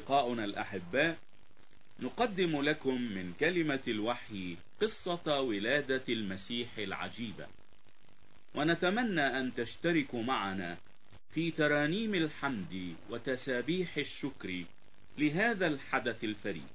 أصدقاؤنا الأحباء، نقدم لكم من كلمة الوحي قصة ولادة المسيح العجيبة، ونتمنى أن تشتركوا معنا في ترانيم الحمد وتسابيح الشكر لهذا الحدث الفريد.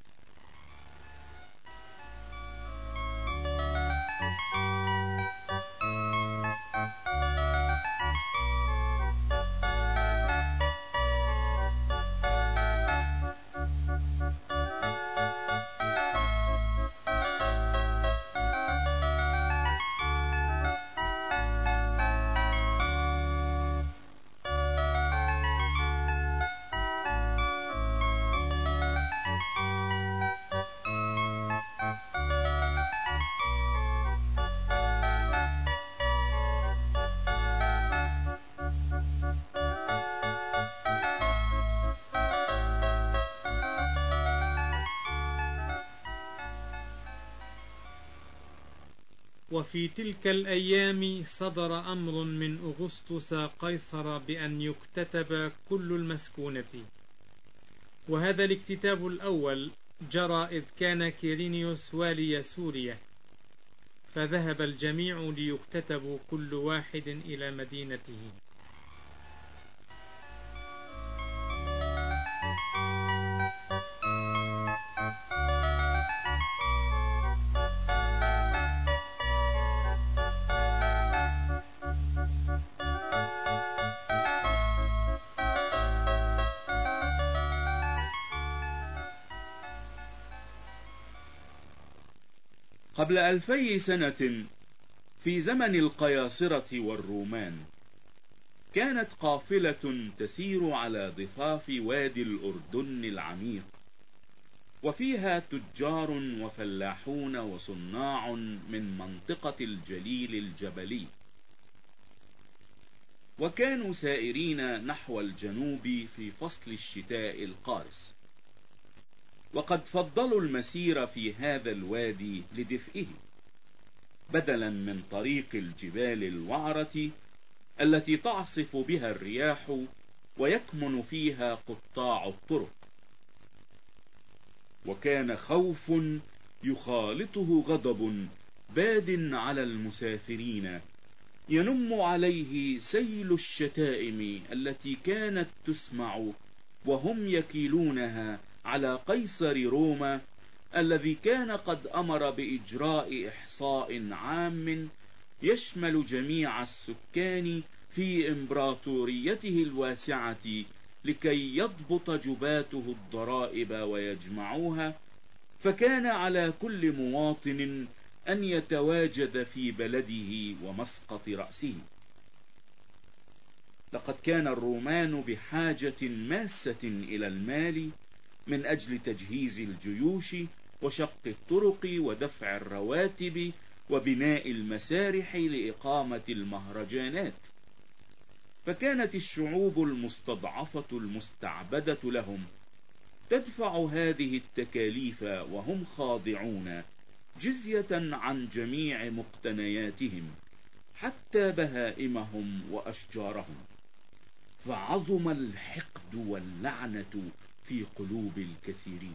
وفي تلك الأيام صدر أمر من أغسطس قيصر بأن يكتتب كل المسكونة، وهذا الاكتتاب الأول جرى إذ كان كيرينيوس والي سوريا، فذهب الجميع ليكتتبوا كل واحد إلى مدينته. قبل 2000 سنة في زمن القياصرة والرومان، كانت قافلة تسير على ضفاف وادي الأردن العميق، وفيها تجار وفلاحون وصناع من منطقة الجليل الجبلي، وكانوا سائرين نحو الجنوب في فصل الشتاء القارس، وقد فضلوا المسير في هذا الوادي لدفئه بدلا من طريق الجبال الوعرة التي تعصف بها الرياح ويكمن فيها قطاع الطرق. وكان خوف يخالطه غضب باد على المسافرين، ينم عليه سيل الشتائم التي كانت تسمع وهم يكيلونها على قيصر روما، الذي كان قد أمر بإجراء إحصاء عام يشمل جميع السكان في إمبراطوريته الواسعة، لكي يضبط جباته الضرائب ويجمعوها. فكان على كل مواطن أن يتواجد في بلده ومسقط رأسه. لقد كان الرومان بحاجة ماسة إلى المال من أجل تجهيز الجيوش وشق الطرق ودفع الرواتب وبناء المسارح لإقامة المهرجانات، فكانت الشعوب المستضعفة المستعبدة لهم تدفع هذه التكاليف وهم خاضعون جزية عن جميع مقتنياتهم حتى بهائمهم وأشجارهم، فعظم الحقد واللعنة في قلوب الكثيرين.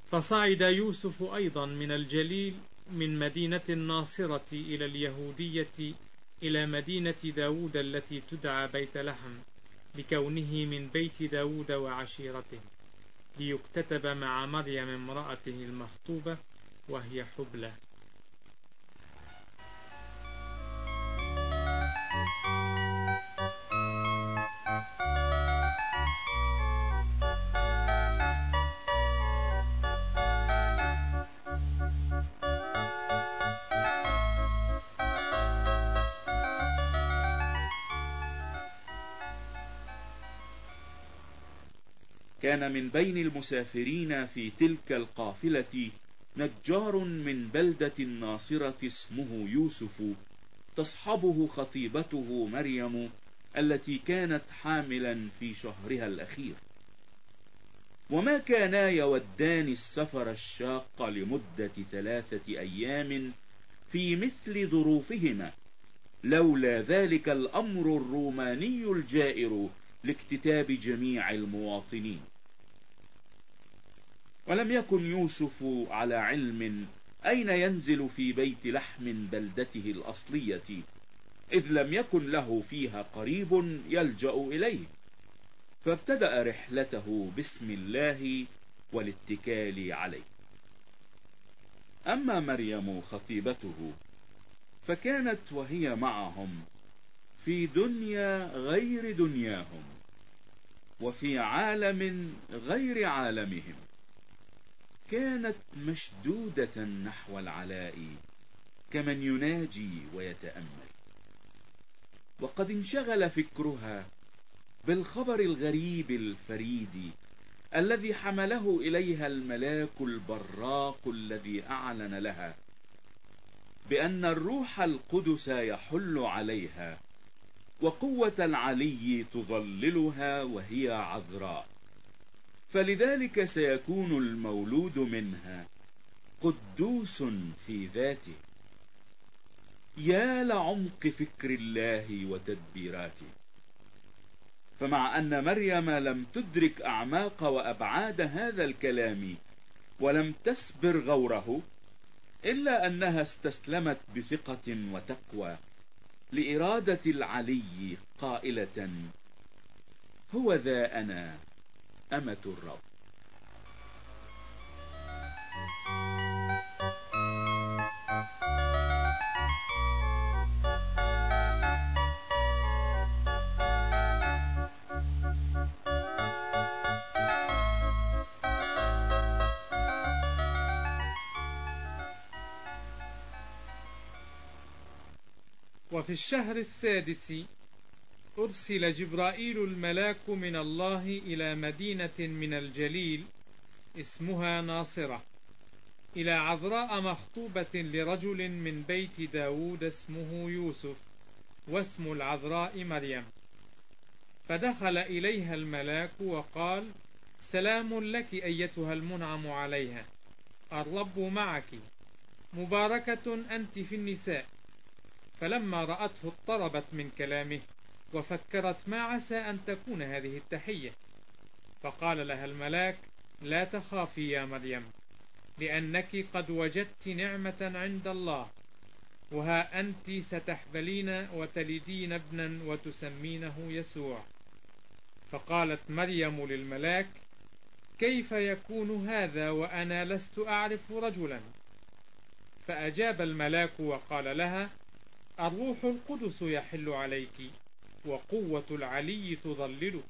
فصعد يوسف أيضا من الجليل من مدينة الناصرة إلى اليهودية إلى مدينة داود التي تدعى بيت لحم لكونه من بيت داود وعشيرته، ليكتتب مع مريم امرأته المخطوبة وهي حبلى. كان من بين المسافرين في تلك القافلة نجار من بلدة الناصرة اسمه يوسف، تصحبه خطيبته مريم التي كانت حاملا في شهرها الأخير. وما كانا يودان السفر الشاق لمدة 3 أيام في مثل ظروفهما، لولا ذلك الأمر الروماني الجائر لاكتتاب جميع المواطنين. ولم يكن يوسف على علم أين ينزل في بيت لحم بلدته الأصلية، إذ لم يكن له فيها قريب يلجأ إليه، فابتدأ رحلته باسم الله والاتكال عليه. أما مريم خطيبته فكانت وهي معهم في دنيا غير دنياهم، وفي عالم غير عالمهم، كانت مشدودة نحو العلاء كمن يناجي ويتأمل. وقد انشغل فكرها بالخبر الغريب الفريد الذي حمله إليها الملاك البراق الذي أعلن لها بأن الروح القدس يحل عليها وقوة العلي تظللها وهي عذراء، فلذلك سيكون المولود منها قدوس في ذاته. يا لعمق فكر الله وتدبيراته! فمع أن مريم لم تدرك أعماق وأبعاد هذا الكلام ولم تسبر غوره، إلا أنها استسلمت بثقة وتقوى لإرادة العلي قائلة: هو ذا أنا أمة الرب. وفي الشهر السادس أرسل جبرائيل الملاك من الله إلى مدينة من الجليل اسمها ناصرة، إلى عذراء مخطوبة لرجل من بيت داود اسمه يوسف، واسم العذراء مريم. فدخل إليها الملاك وقال: سلام لك أيتها المنعم عليها، الرب معك، مباركة أنت في النساء. فلما رأته اضطربت من كلامه، وفكرت ما عسى أن تكون هذه التحية. فقال لها الملاك: لا تخافي يا مريم، لأنك قد وجدت نعمة عند الله، وها أنت ستحبلين وتلدين ابنا وتسمينه يسوع. فقالت مريم للملاك: كيف يكون هذا وأنا لست أعرف رجلا؟ فأجاب الملاك وقال لها: الروح القدس يحل عليك، وقوة العلي تظللك.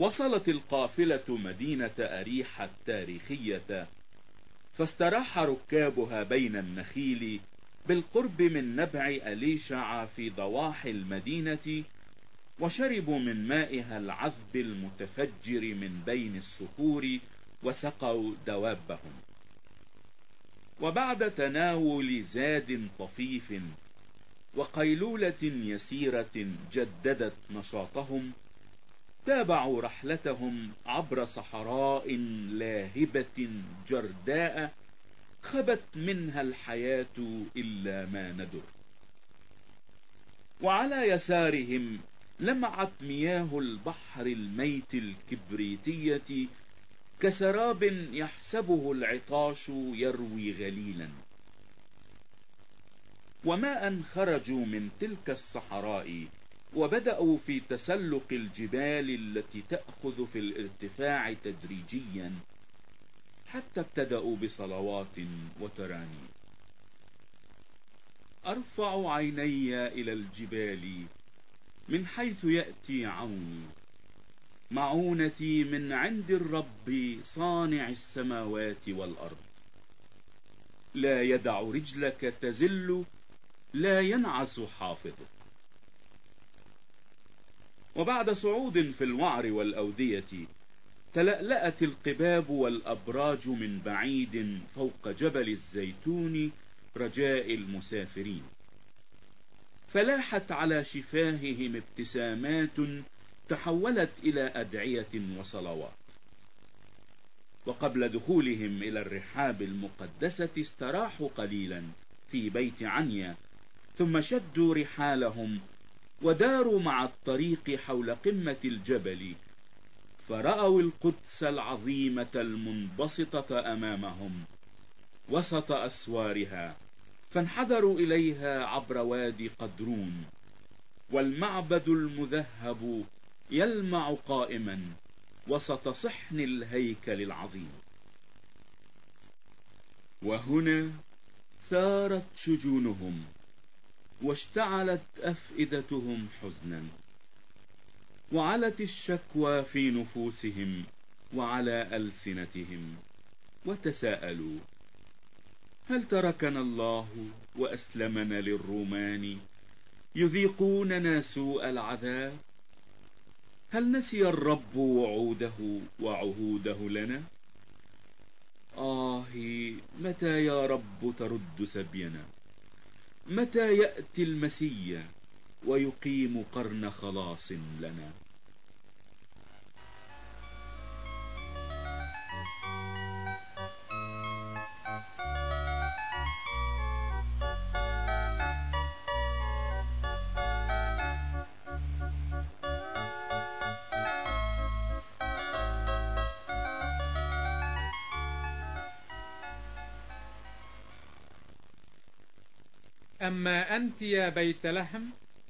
وصلت القافلة مدينة أريحة التاريخية، فاستراح ركابها بين النخيل بالقرب من نبع أليشع في ضواحي المدينة، وشربوا من مائها العذب المتفجر من بين الصخور، وسقوا دوابهم. وبعد تناول زاد طفيف وقيلولة يسيرة جددت نشاطهم، تابعوا رحلتهم عبر صحراء لاهبة جرداء خبت منها الحياة إلا ما ندر. وعلى يسارهم لمعت مياه البحر الميت الكبريتية كسراب يحسبه العطاش يروي غليلا. وما خرجوا من تلك الصحراء وبدأوا في تسلق الجبال التي تأخذ في الارتفاع تدريجيا، حتى ابتدأوا بصلوات وترانيم. أرفع عيني إلى الجبال من حيث يأتي عوني، معونتي من عند الرب صانع السماوات والأرض. لا يدع رجلك تزل، لا ينعس حافظك. وبعد صعود في الوعر والأودية، تلألأت القباب والأبراج من بعيد فوق جبل الزيتون رجاء المسافرين، فلاحت على شفاههم ابتسامات تحولت إلى أدعية وصلوات. وقبل دخولهم إلى الرحاب المقدسة استراحوا قليلا في بيت عنيا، ثم شدوا رحالهم وداروا مع الطريق حول قمة الجبل، فرأوا القدس العظيمة المنبسطة أمامهم وسط أسوارها، فانحدروا إليها عبر وادي قدرون، والمعبد المذهب يلمع قائما وسط صحن الهيكل العظيم. وهنا ثارت شجونهم واشتعلت أفئدتهم حزنا، وعلت الشكوى في نفوسهم وعلى ألسنتهم، وتساءلوا: هل تركنا الله وأسلمنا للرومان يذيقوننا سوء العذاب؟ هل نسي الرب وعوده وعهوده لنا؟ متى يا رب ترد سبينا؟ متى يأتي المسيا ويقيم قرن خلاص لنا؟ أما أنت يا بيت لحم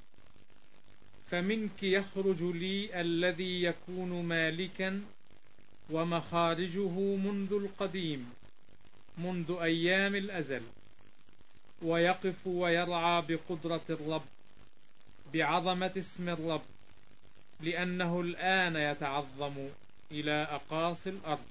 فمنك يخرج لي الذي يكون مالكا، ومخارجه منذ القديم، منذ أيام الأزل، ويقف ويرعى بقدرة الرب، بعظمة اسم الرب، لأنه الآن يتعظم إلى أقاصي الأرض.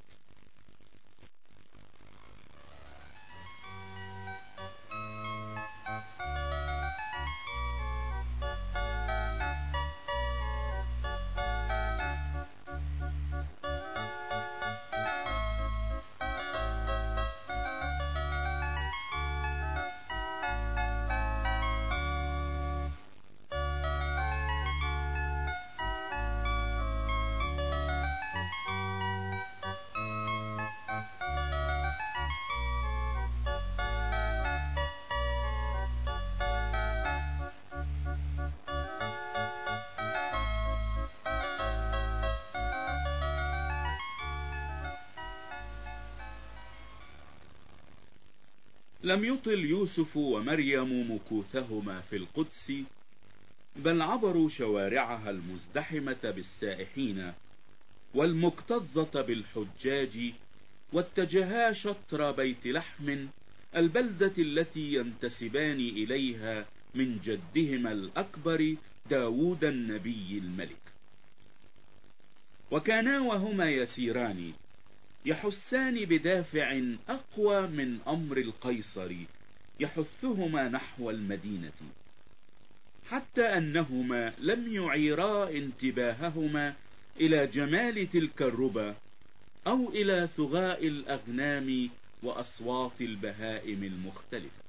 لم يطل يوسف ومريم مكوثهما في القدس، بل عبروا شوارعها المزدحمة بالسائحين والمكتظة بالحجاج، واتجها شطر بيت لحم، البلدة التي ينتسبان إليها من جدهما الأكبر داود النبي الملك. وكانا وهما يسيران يحسان بدافع أقوى من أمر القيصر يحثهما نحو المدينة، حتى أنهما لم يعيرا انتباههما إلى جمال تلك الربا أو إلى ثغاء الأغنام وأصوات البهائم المختلفة.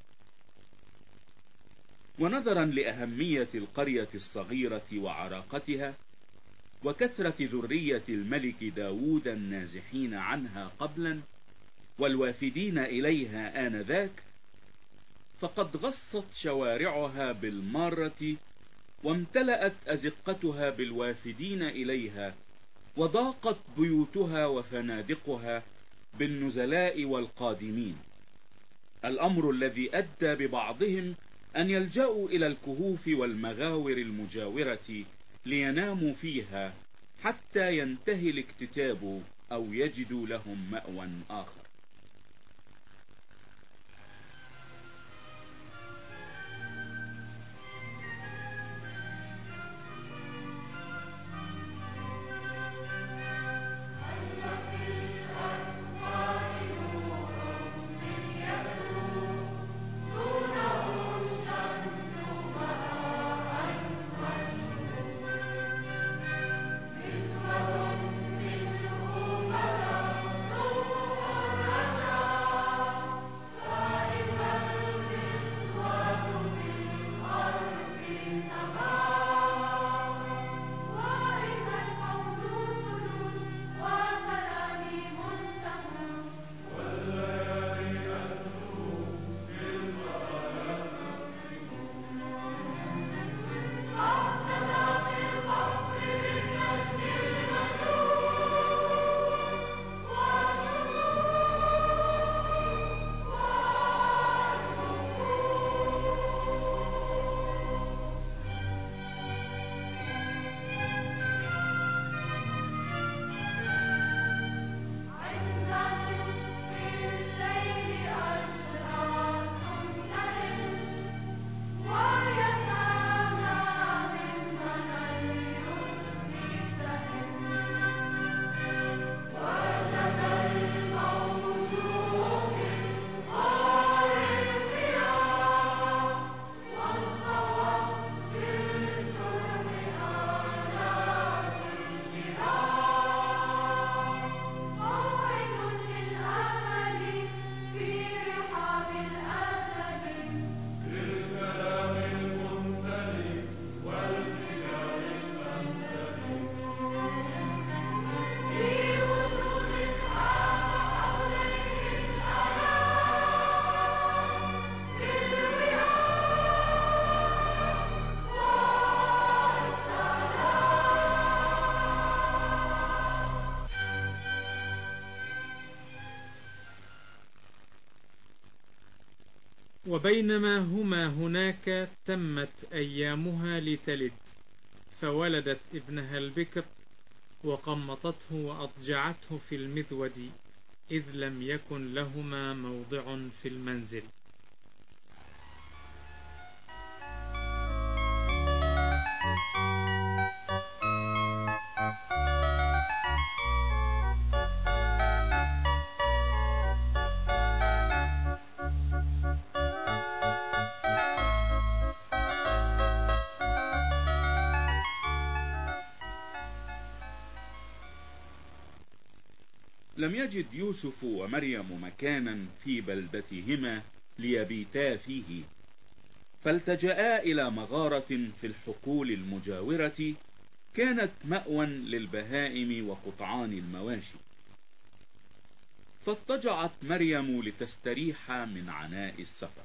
ونظرا لأهمية القرية الصغيرة وعراقتها وكثرة ذرية الملك داود النازحين عنها قبلا والوافدين إليها آنذاك، فقد غصت شوارعها بالمارة وامتلأت أزقتها بالوافدين إليها، وضاقت بيوتها وفنادقها بالنزلاء والقادمين، الأمر الذي أدى ببعضهم أن يلجأوا إلى الكهوف والمغاور المجاورة ليناموا فيها حتى ينتهي الاكتتاب أو يجدوا لهم مأوى آخر. وبينما هما هناك تمت أيامها لتلد، فولدت ابنها البكر وقمطته وأضجعته في المذود، إذ لم يكن لهما موضع في المنزل. لم يجد يوسف ومريم مكانا في بلدتهما ليبيتا فيه، فالتجأا إلى مغارة في الحقول المجاورة كانت مأوى للبهائم وقطعان المواشي. فاضطجعت مريم لتستريح من عناء السفر،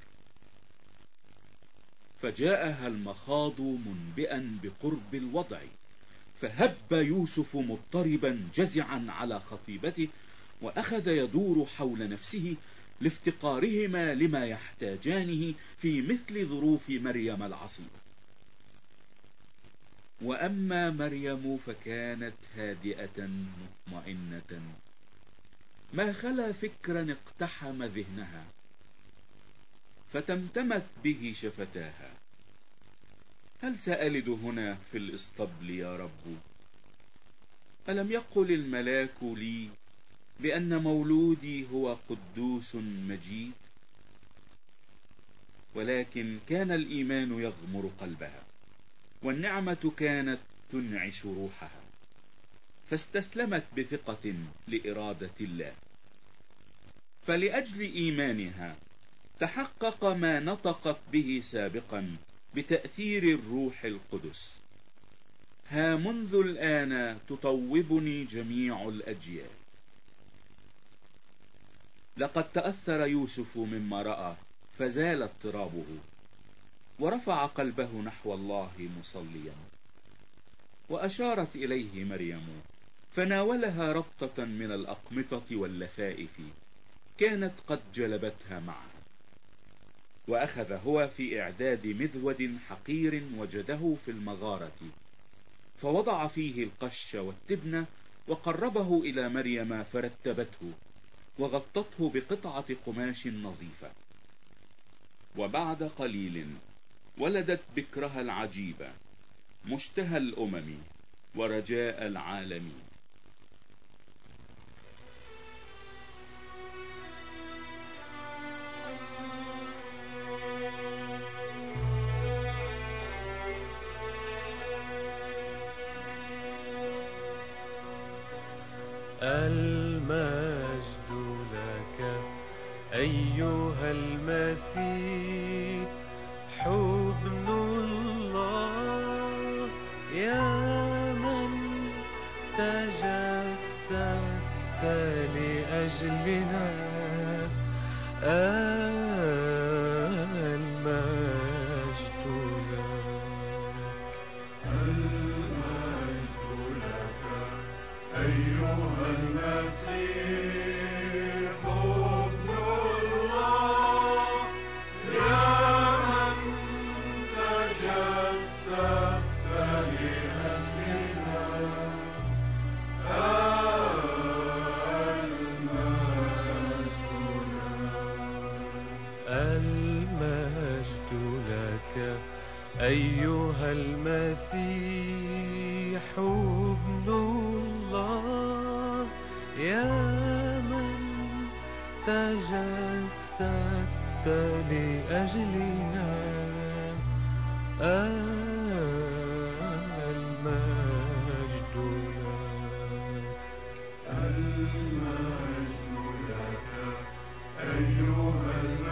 فجاءها المخاض منبئا بقرب الوضع، فهب يوسف مضطربا جزعا على خطيبته، وأخذ يدور حول نفسه لافتقارهما لما يحتاجانه في مثل ظروف مريم العصيبة. وأما مريم فكانت هادئة مطمئنة، ما خلا فكرا اقتحم ذهنها، فتمتمت به شفتاها: هل سألد هنا في الإسطبل يا رب؟ ألم يقل الملاك لي بأن مولودي هو قدوس مجيد؟ ولكن كان الإيمان يغمر قلبها، والنعمة كانت تنعش روحها، فاستسلمت بثقة لإرادة الله. فلأجل إيمانها تحقق ما نطقت به سابقا بتأثير الروح القدس: ها منذ الآن تطوبني جميع الأجيال. لقد تأثر يوسف مما رأى فزال اضطرابه، ورفع قلبه نحو الله مصليا. وأشارت إليه مريم فناولها ربطة من الأقمطة واللفائف كانت قد جلبتها معها. وأخذ هو في إعداد مذود حقير وجده في المغارة، فوضع فيه القش والتبن وقربه إلى مريم فرتبته وغطته بقطعة قماش نظيفة. وبعد قليل ولدت بكرها العجيبة، مشتهى الأمم ورجاء العالمين. المجد لك أيها المسيح، حضن الله يا من تجسدت لأجلنا. المجد لك أيها المسيح، حضن الله يا من تجسدت لأجلنا. المجد لك أيها المسيح، حضن الله يا من تجسدت لأجلنا. المجد لك أيها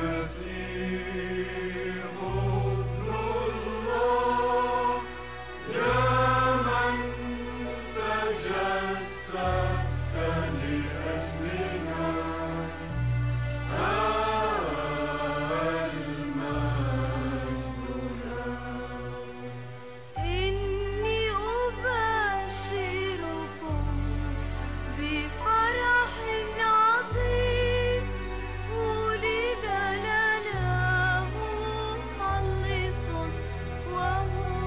المسيح، حضن الله يا من تجسدت لأجلنا. إني أبشركم بفرح عظيم، ولد لنا مخلص وهو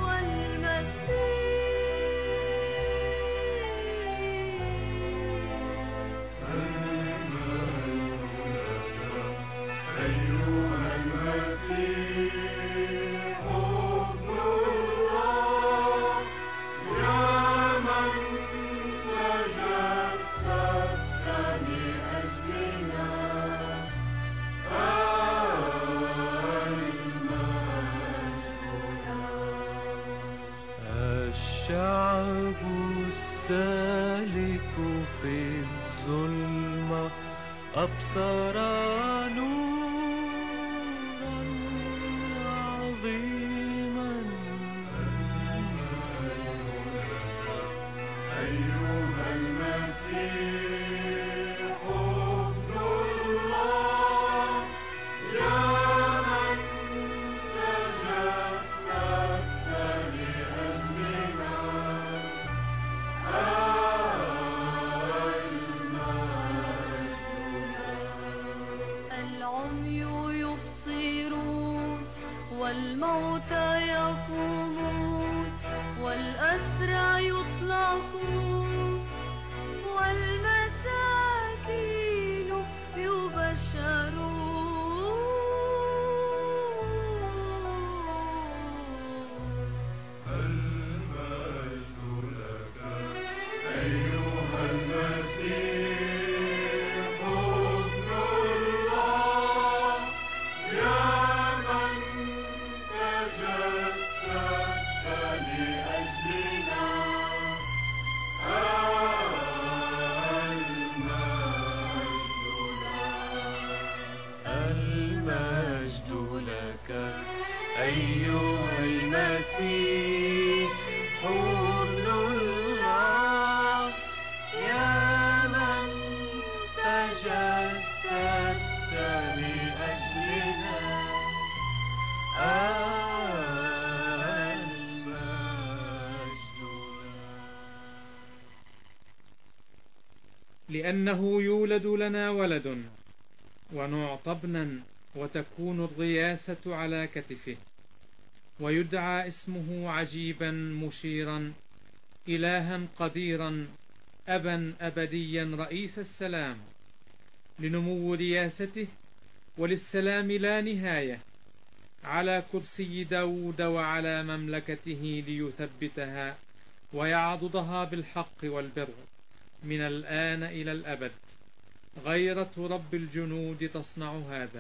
الشعب السالك في الظلمة أبصر نورا عظيما. أيها المسيح، حضن الله يا من تجسدت لأجلنا. العمي يبصرون، والموتى يقومون، والأسرى يطلقون، والمساكين يبشرون. المجد لك أيها أيها المسيح حضن الله يا من تجسدت لأجلنا المجد لأنه يولد لنا ولد ونعطى ابنا وتكون الرياسة على كتفه ويدعى اسمه عجيبا مشيرا إلها قديرا أبا أبديا رئيس السلام لنمو رياسته وللسلام لا نهاية على كرسي داود وعلى مملكته ليثبتها ويعضدها بالحق والبر من الآن إلى الأبد. غيرة رب الجنود تصنع هذا.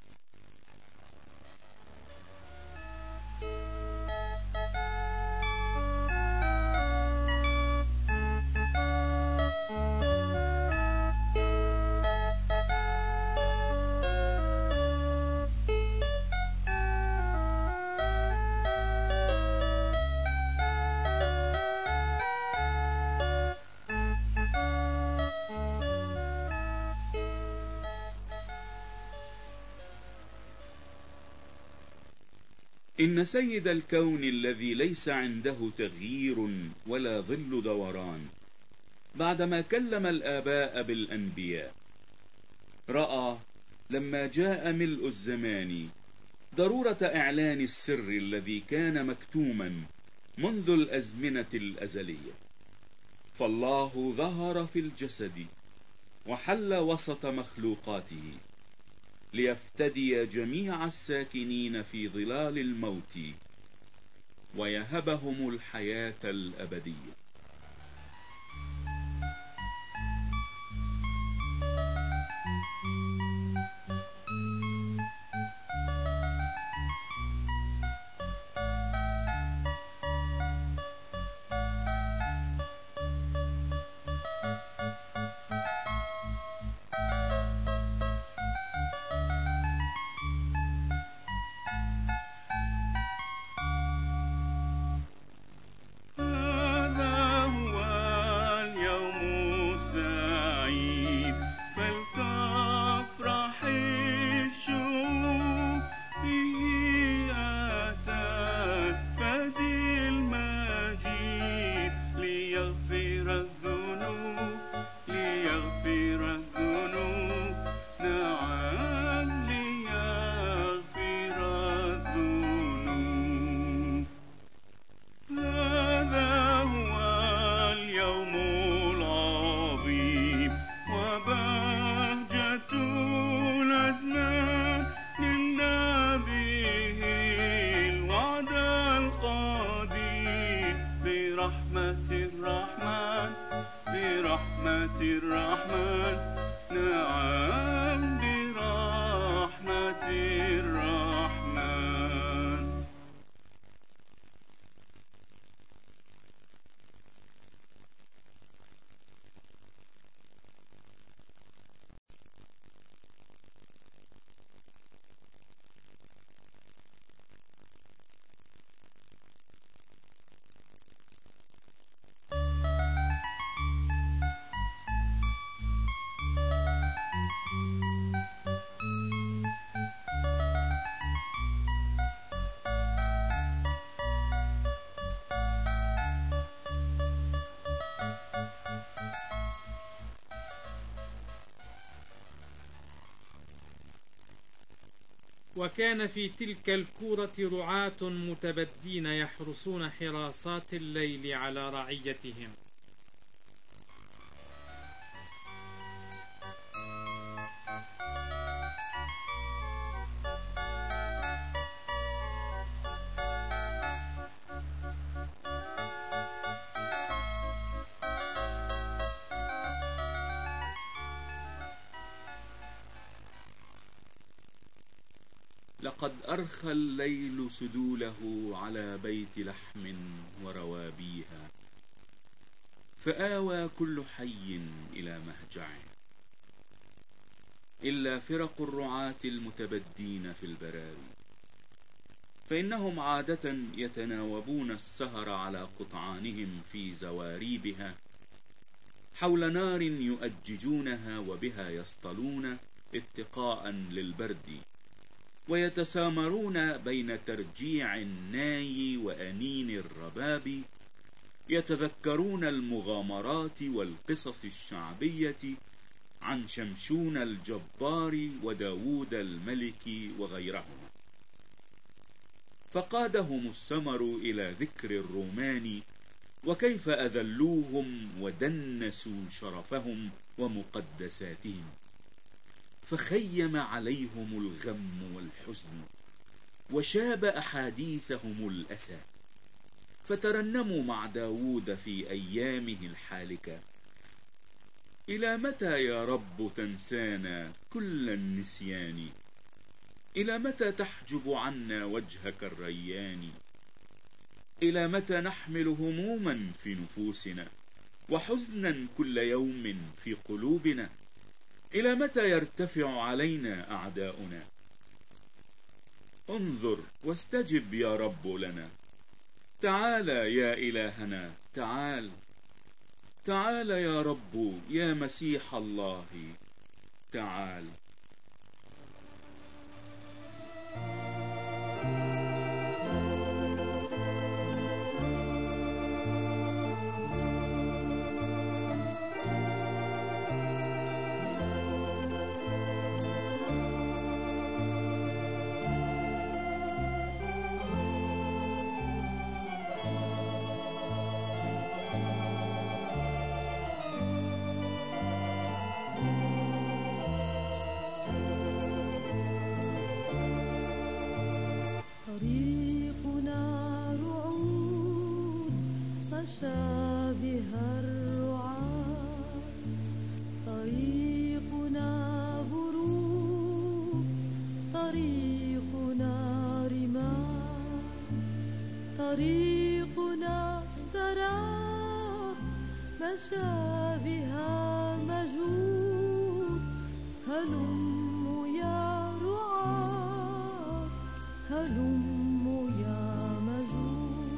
إن سيد الكون الذي ليس عنده تغيير ولا ظل دوران بعدما كلم الآباء بالأنبياء رأى لما جاء ملء الزمان ضرورة إعلان السر الذي كان مكتوما منذ الأزمنة الأزلية، فالله ظهر في الجسد وحل وسط مخلوقاته ليفتدي جميع الساكنين في ظلال الموت ويهبهم الحياة الأبدية. وكان في تلك الكورة رعاة متبدين يحرسون حراسات الليل على رعيتهم. لقد أرخى الليل سدوله على بيت لحم وروابيها، فآوى كل حي إلى مهجعه، إلا فرق الرعاة المتبدين في البراري، فإنهم عادة يتناوبون السهر على قطعانهم في زواريبها حول نار يؤججونها وبها يصطلون اتقاء للبرد، ويتسامرون بين ترجيع الناي وأنين الرباب، يتذكرون المغامرات والقصص الشعبية عن شمشون الجبار وداود الملك وغيرهما. فقادهم السمر إلى ذكر الرومان وكيف أذلوهم ودنسوا شرفهم ومقدساتهم، فخيم عليهم الغم والحزن وشاب أحاديثهم الأسى، فترنموا مع داود في أيامه الحالكة: إلى متى يا رب تنسانا كل النسيان، إلى متى تحجب عنا وجهك الريان، إلى متى نحمل هموما في نفوسنا وحزنا كل يوم في قلوبنا، إلى متى يرتفع علينا أعداؤنا. انظر واستجب يا رب لنا، تعال يا إلهنا، تعال تعال يا رب يا مسيح الله، تعال. طريقنا سراب مشابها مجود، هلم يا رعاة، هلم يا مجود.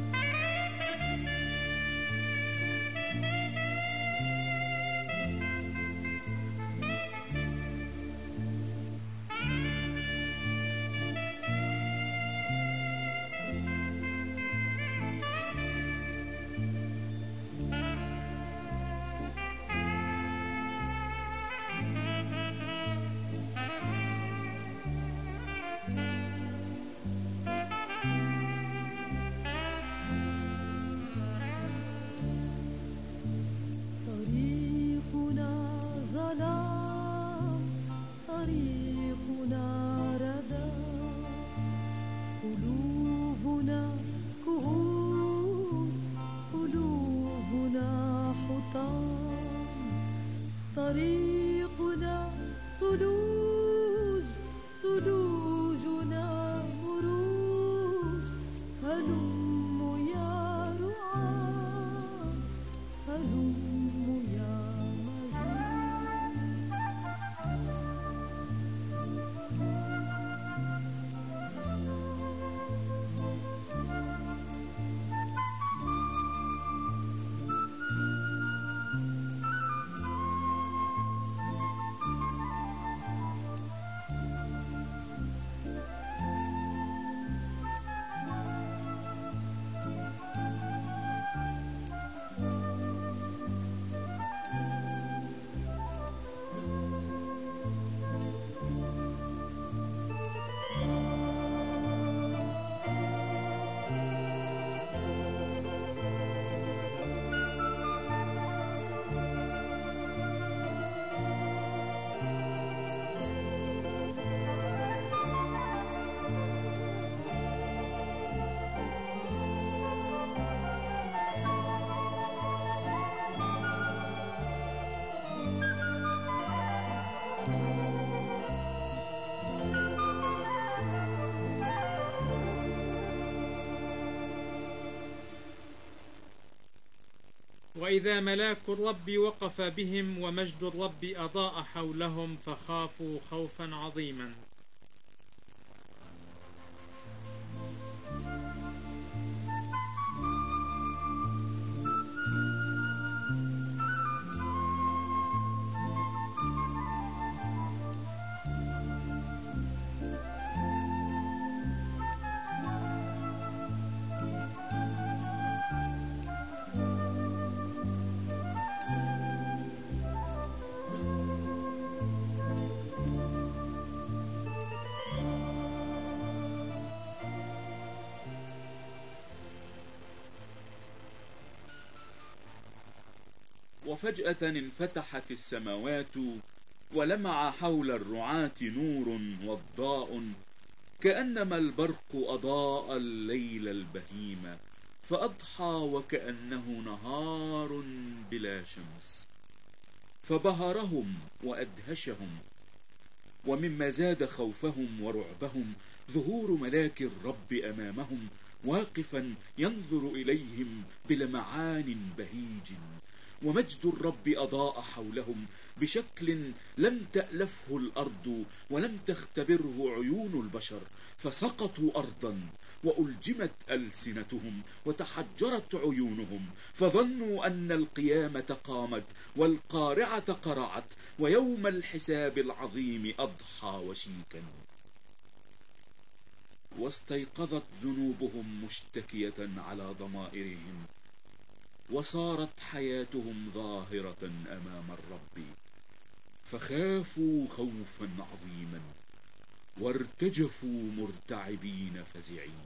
طريقنا ثلوج، ثلوجنا مروج، هلم يا رعاة، هلم يا وإذا ملاك الرب وقف بهم ومجد الرب أضاء حولهم فخافوا خوفا عظيما. وفجأة انفتحت السماوات ولمع حول الرعاة نور وضاء، كأنما البرق أضاء الليل البهيم فأضحى وكأنه نهار بلا شمس، فبهرهم وأدهشهم. ومما زاد خوفهم ورعبهم ظهور ملاك الرب أمامهم واقفا ينظر إليهم بلمعان بهيج، ومجد الرب أضاء حولهم بشكل لم تألفه الأرض ولم تختبره عيون البشر، فسقطوا أرضا وألجمت ألسنتهم وتحجرت عيونهم، فظنوا أن القيامة قامت والقارعة قرعت ويوم الحساب العظيم أضحى وشيكا. واستيقظت ذنوبهم مشتكية على ضمائرهم، وصارت حياتهم ظاهرة أمام الرب، فخافوا خوفا عظيما وارتجفوا مرتعبين فزعين.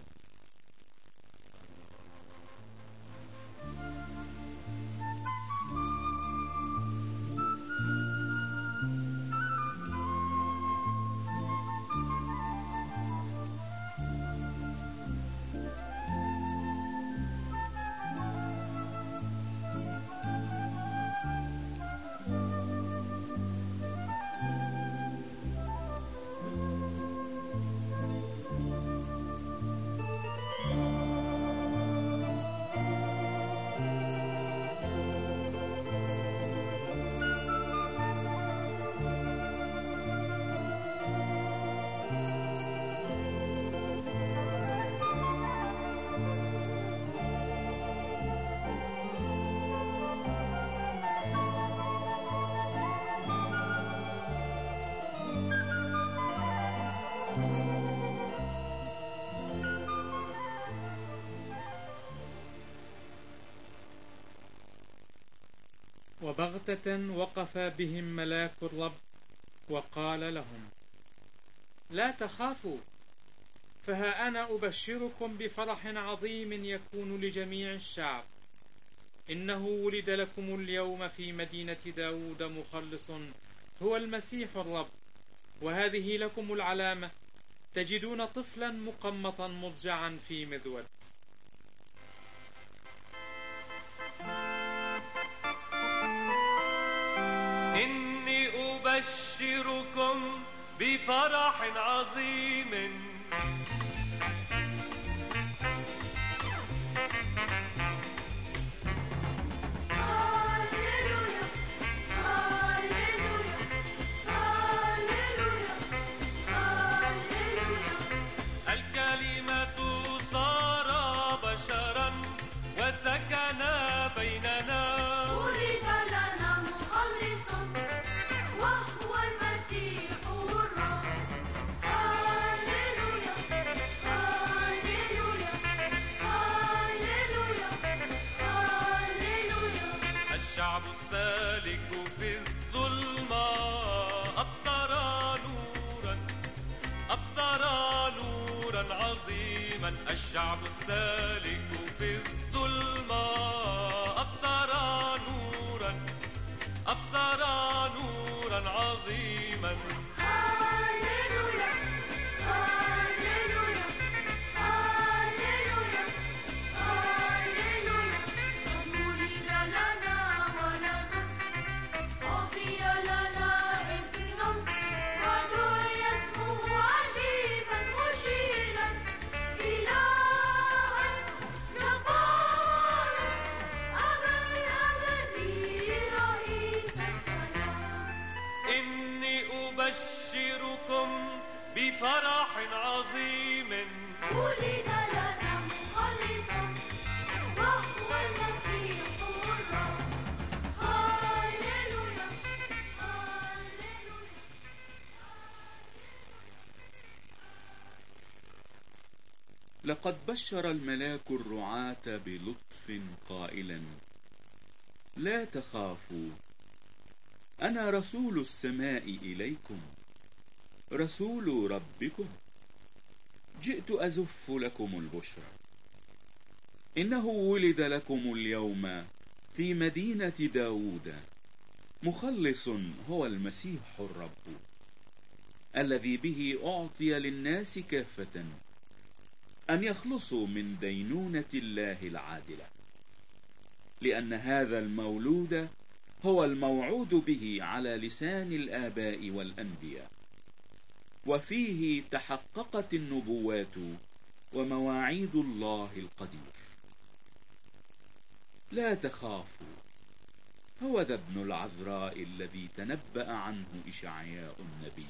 وبغتة وقف بهم ملاك الرب وقال لهم: لا تخافوا، فها أنا أبشركم بفرح عظيم يكون لجميع الشعب. إنه ولد لكم اليوم في مدينة داود مخلص هو المسيح الرب. وهذه لكم العلامة: تجدون طفلا مقمطا مضجعا في مذود. إني أبشركم بفرح عظيم الكلمة صار بشرا وسكن بيننا. ولد لنا مخلص وهو المسيح الرب. هاليلويا هاليلويا هاليلويا هاليلويا. الشعب السالك في الظلمة أبصر نورا عظيما. الشعب السالك في الظلمة أبصر نورا عظيما. هاليلويا هاليلويا هاليلويا هاليلويا. قد ولد لنا ولد، أعطي لنا ابن، ودعي اسمه عجيبا مشيرا، إلها جبارا، أبا الأبدي رئيس السلام. إني أبشركم بفرح عظيم ولد لنا مخلص وهو المسيح الرب. هاليلويا هاليلويا. لقد بشر الملاك الرعاة بلطف قائلا: لا تخافوا، أنا رسول السماء إليكم، رسول ربكم، جئت أزف لكم البشرى. إنه ولد لكم اليوم في مدينة داود مخلص هو المسيح الرب، الذي به أعطي للناس كافة أن يخلصوا من دينونة الله العادلة، لأن هذا المولود هو الموعود به على لسان الآباء والأنبياء، وفيه تحققت النبوات ومواعيد الله القدير. لا تخافوا، هو ذا ابن العذراء الذي تنبأ عنه إشعياء النبي،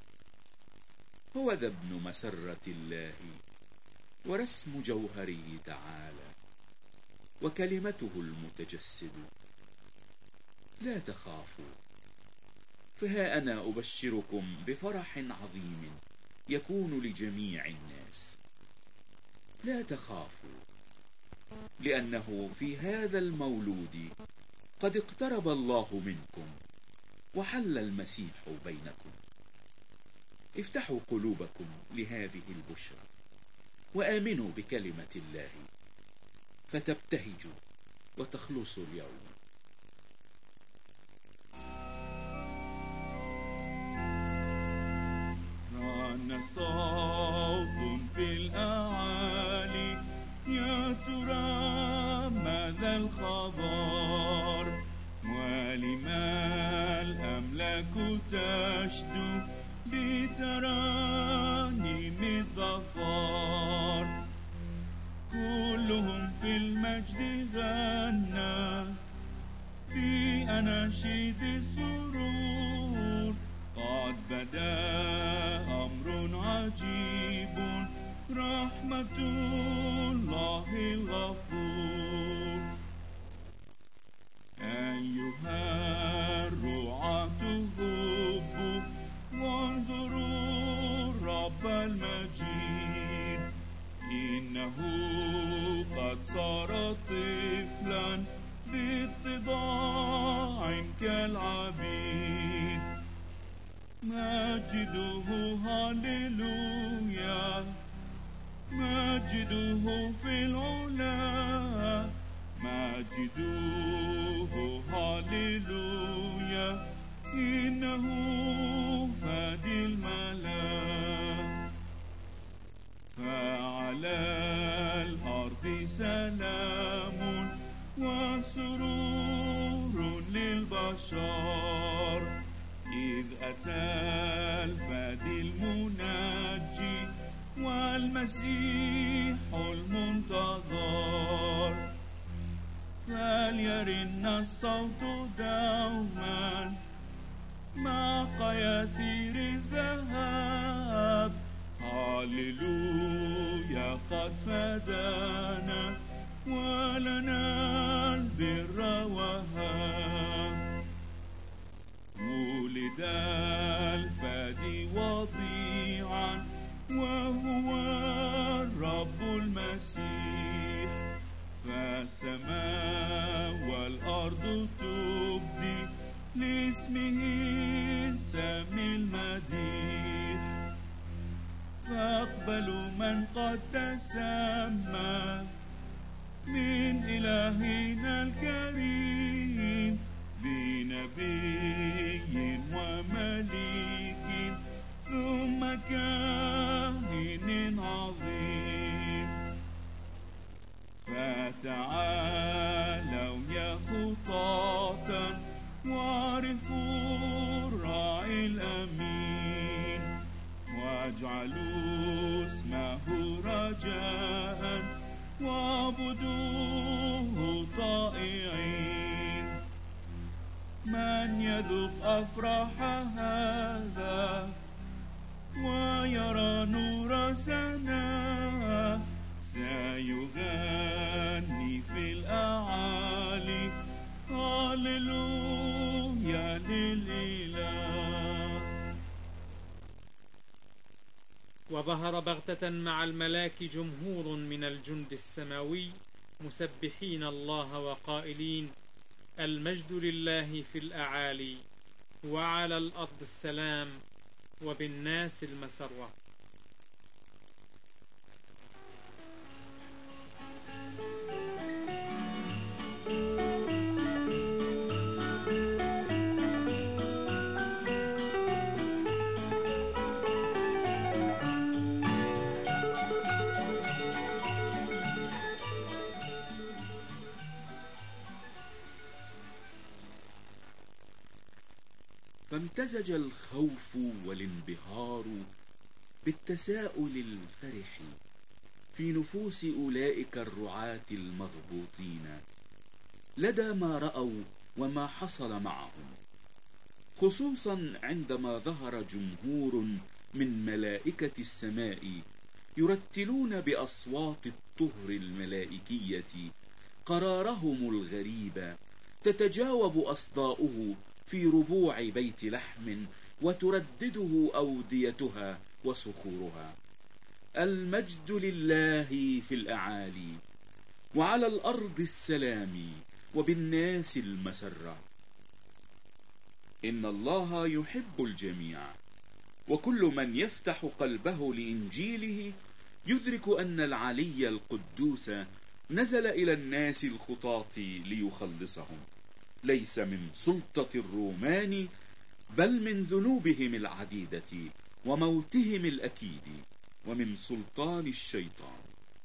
هو ذا ابن مسرة الله ورسم جوهره تعالى وكلمته المتجسد. لا تخافوا، فها أنا أبشركم بفرح عظيم يكون لجميع الناس. لا تخافوا، لأنه في هذا المولود قد اقترب الله منكم وحل المسيح بينكم. افتحوا قلوبكم لهذه البشرى وآمنوا بكلمة الله فتبتهجوا وتخلصوا اليوم. رن صوت في الأعالي، يا ترى ماذا الخبر؟ ولما الأملاك تشدو بترانيم الظفار؟ كلهم في المجد غنى بأناشيد السرور. قد بدا أمر عجيب، رحمة الله الغفور. أيها الرعاة هبوا وانظروا الرب المجيد، إنه قد صار طفلا باتضاع كالعبيد. مجده هاليلويا، مجده في العلا، مجده هاليلويا، إنه فادي الملا. فعلى الأرض سلام وسرور للبشر، إذ أتى الفادي المنجي والمسيح المنتظر. فليرن الصوت دوما مع قياثير الذهب، هاليلويا قد فدانا ولنا البر وهاب. ولد الفادي وضيعا وهو الرب المسيح، فالسماء والأرض تبدي لاسمه سمي المديح. فاقبلوا من قد تسمى من إلهنا الكريم، بنبي ومليك ثم كاهن عظيم. فتعالوا يا خطاة واعرفوا الراعي الأمين، واجعلوا اسمه رجاء واعبدوه طائعين. من يذوق أفراح هذا ويرى نور سناه، سيغني في الأعالي هاليلويا للإله. وظهر بغتة مع الملاك جمهور من الجند السماوي مسبحين الله وقائلين: المجد لله في الأعالي، وعلى الأرض السلام، وبالناس المسرة. فامتزج الخوف والانبهار بالتساؤل الفرح في نفوس أولئك الرعاة المغبوطين لدى ما رأوا وما حصل معهم، خصوصا عندما ظهر جمهور من ملائكة السماء يرتلون بأصوات الطهر الملائكية قرارهم الغريب تتجاوب أصداؤه في ربوع بيت لحم وتردده أوديتها وصخورها: المجد لله في الأعالي، وعلى الأرض السلام، وبالناس المسرة. إن الله يحب الجميع، وكل من يفتح قلبه لإنجيله يدرك أن العلي القدوس نزل إلى الناس الخطاة ليخلصهم، ليس من سلطة الرومان بل من ذنوبهم العديدة وموتهم الأكيد ومن سلطان الشيطان.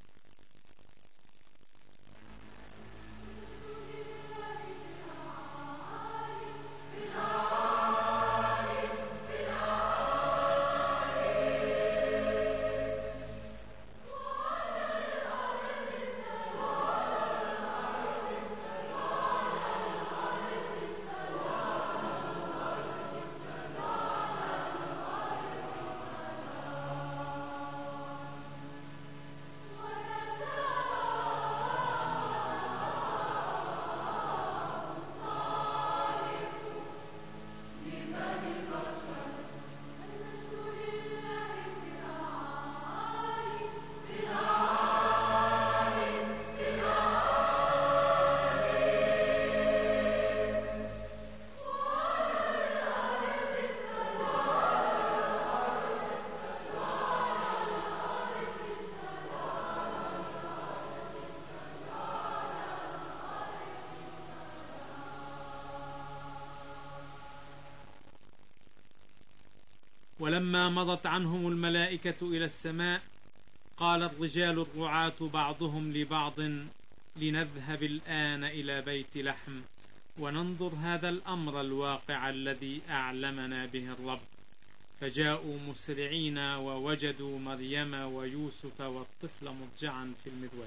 ولما مضت عنهم الملائكة إلى السماء قال الرجال الرعاة بعضهم لبعض: لنذهب الآن إلى بيت لحم وننظر هذا الأمر الواقع الذي أعلمنا به الرب. فجاءوا مسرعين ووجدوا مريم ويوسف والطفل مضجعا في المذود.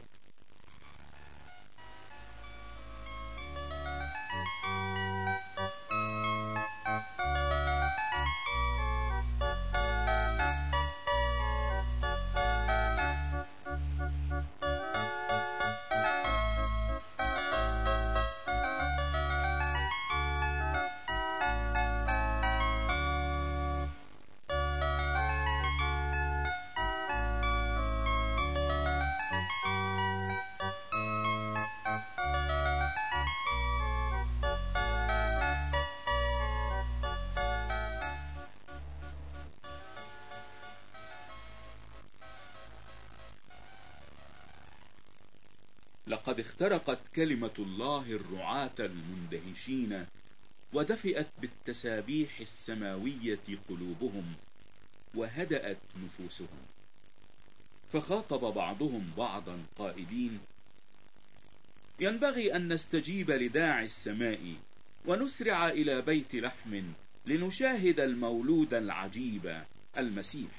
لقد اخترقت كلمة الله الرعاة المندهشين ودفئت بالتسابيح السماوية قلوبهم وهدأت نفوسهم، فخاطب بعضهم بعضا قائلين: ينبغي أن نستجيب لداعي السماء ونسرع إلى بيت لحم لنشاهد المولود العجيب المسيح.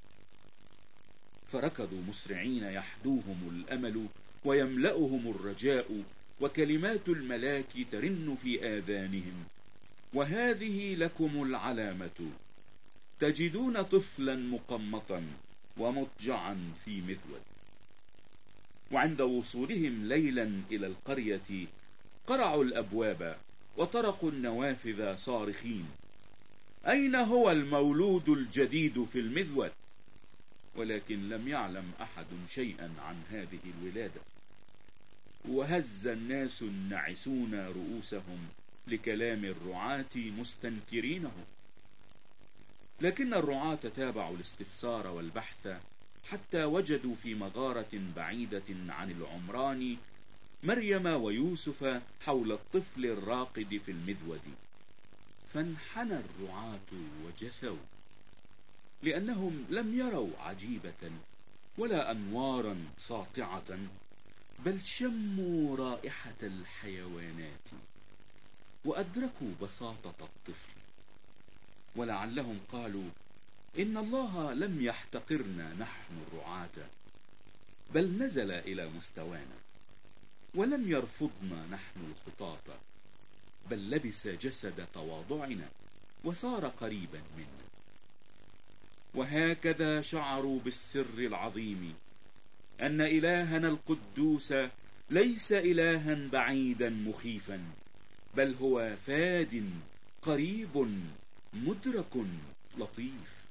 فركضوا مسرعين يحدوهم الأمل ويملأهم الرجاء، وكلمات الملاك ترن في آذانهم: وهذه لكم العلامة، تجدون طفلا مقمطا ومضجعا في مذود. وعند وصولهم ليلا إلى القرية قرعوا الأبواب وطرقوا النوافذ صارخين: أين هو المولود الجديد في المذود؟ ولكن لم يعلم أحد شيئا عن هذه الولادة. وهز الناس النعسون رؤوسهم لكلام الرعاة مستنكرينه، لكن الرعاة تابعوا الاستفسار والبحث حتى وجدوا في مغارة بعيدة عن العمران مريم ويوسف حول الطفل الراقد في المذود. فانحنى الرعاة وجثوا، لأنهم لم يروا عجيبة ولا أنوارا ساطعة، بل شموا رائحة الحيوانات وأدركوا بساطة الطفل. ولعلهم قالوا إن الله لم يحتقرنا نحن الرعاة، بل نزل إلى مستوانا، ولم يرفضنا نحن الخطاة، بل لبس جسد تواضعنا وصار قريبا منا. وهكذا شعروا بالسر العظيم أن إلهنا القدوس ليس إلها بعيدا مخيفا، بل هو فاد قريب مدرك لطيف.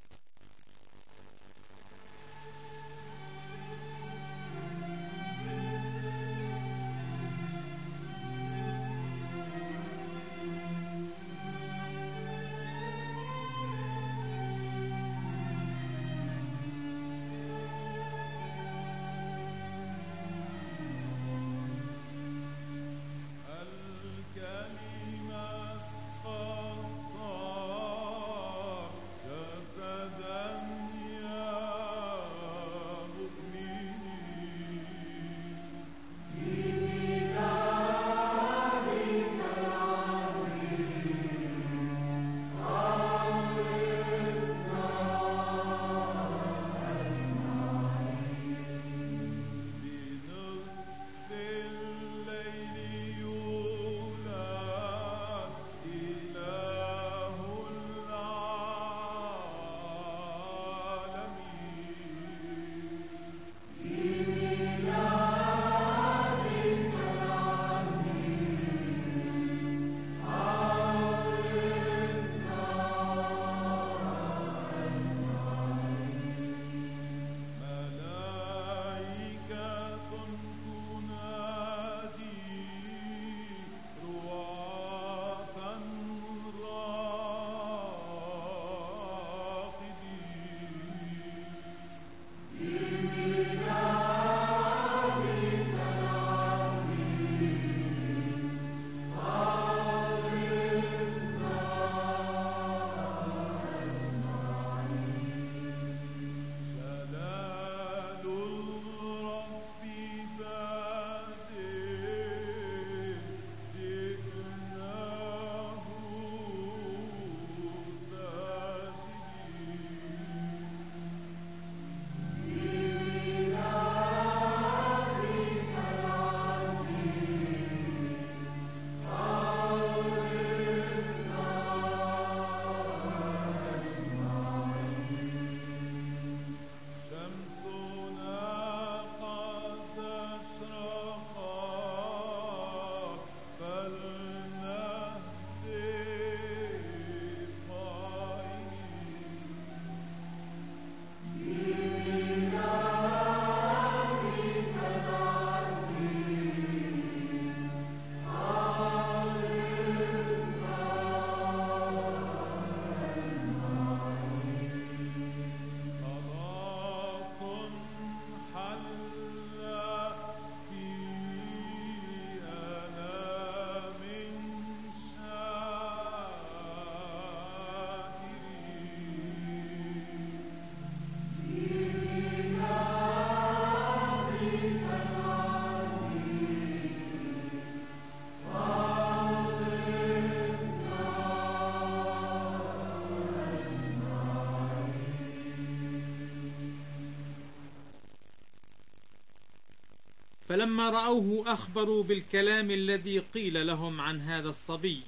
فلما رأوه أخبروا بالكلام الذي قيل لهم عن هذا الصبي،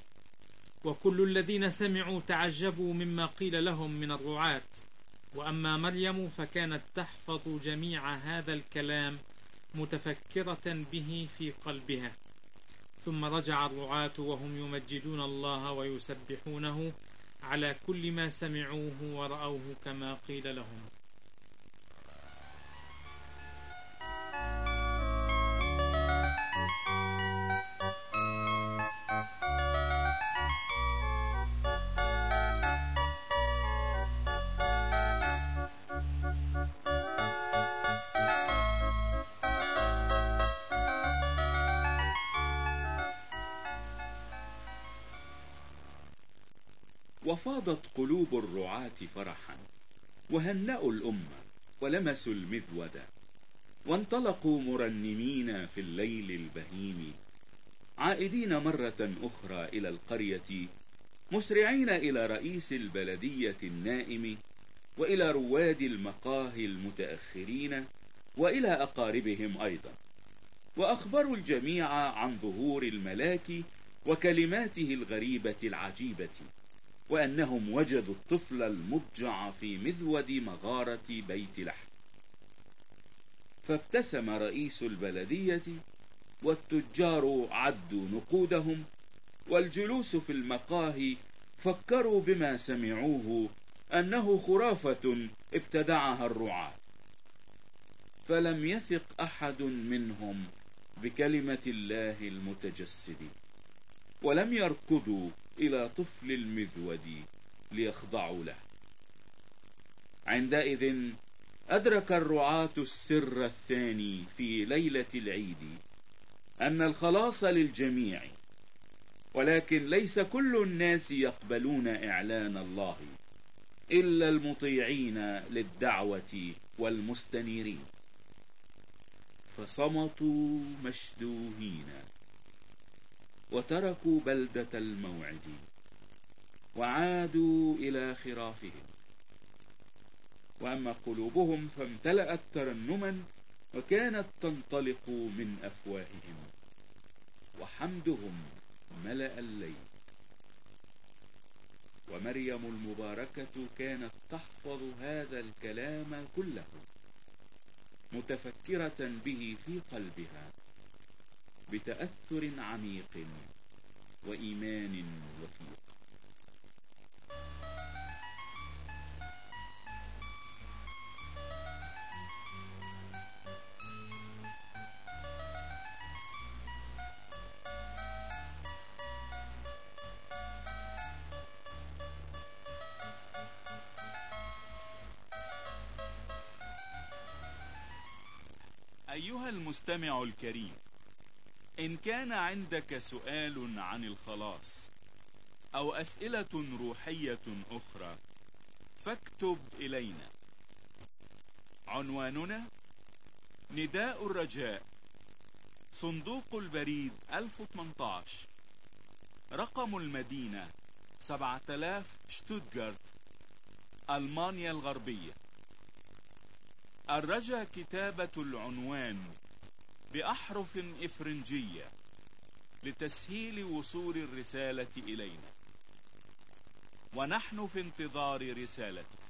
وكل الذين سمعوا تعجبوا مما قيل لهم من الرعاة. وأما مريم فكانت تحفظ جميع هذا الكلام متفكرة به في قلبها. ثم رجع الرعاة وهم يمجدون الله ويسبحونه على كل ما سمعوه ورأوه كما قيل لهم. وفاضت قلوب الرعاة فرحا، وهنأوا الأمة ولمسوا المذود، وانطلقوا مرنمين في الليل البهيم، عائدين مرة أخرى إلى القرية مسرعين إلى رئيس البلدية النائم وإلى رواد المقاهي المتأخرين وإلى أقاربهم أيضا، وأخبروا الجميع عن ظهور الملاك وكلماته الغريبة العجيبة، وأنهم وجدوا الطفل المضجع في مذود مغارة بيت لحم. فابتسم رئيس البلدية، والتجار عدوا نقودهم، والجلوس في المقاهي فكروا بما سمعوه أنه خرافة ابتدعها الرعاة، فلم يثق أحد منهم بكلمة الله المتجسد، ولم يركضوا إلى طفل المذود ليخضعوا له. عندئذ أدرك الرعاة السر الثاني في ليلة العيد، أن الخلاص للجميع، ولكن ليس كل الناس يقبلون إعلان الله إلا المطيعين للدعوة والمستنيرين. فصمتوا مشدوهين، وتركوا بلدة الموعد، وعادوا إلى خرافهم. وأما قلوبهم فامتلأت ترنما، وكانت تنطلق من أفواههم، وحمدهم ملأ الليل. ومريم المباركة كانت تحفظ هذا الكلام كله، متفكرة به في قلبها بتأثر عميق وإيمان وثيق. أيها المستمع الكريم، إن كان عندك سؤال عن الخلاص أو أسئلة روحية أخرى فاكتب إلينا. عنواننا: نداء الرجاء، صندوق البريد 1018، رقم المدينة 7000 شتوتغارت، ألمانيا الغربية. الرجاء كتابة العنوان بأحرف إفرنجية لتسهيل وصول الرسالة إلينا، ونحن في انتظار رسالتك.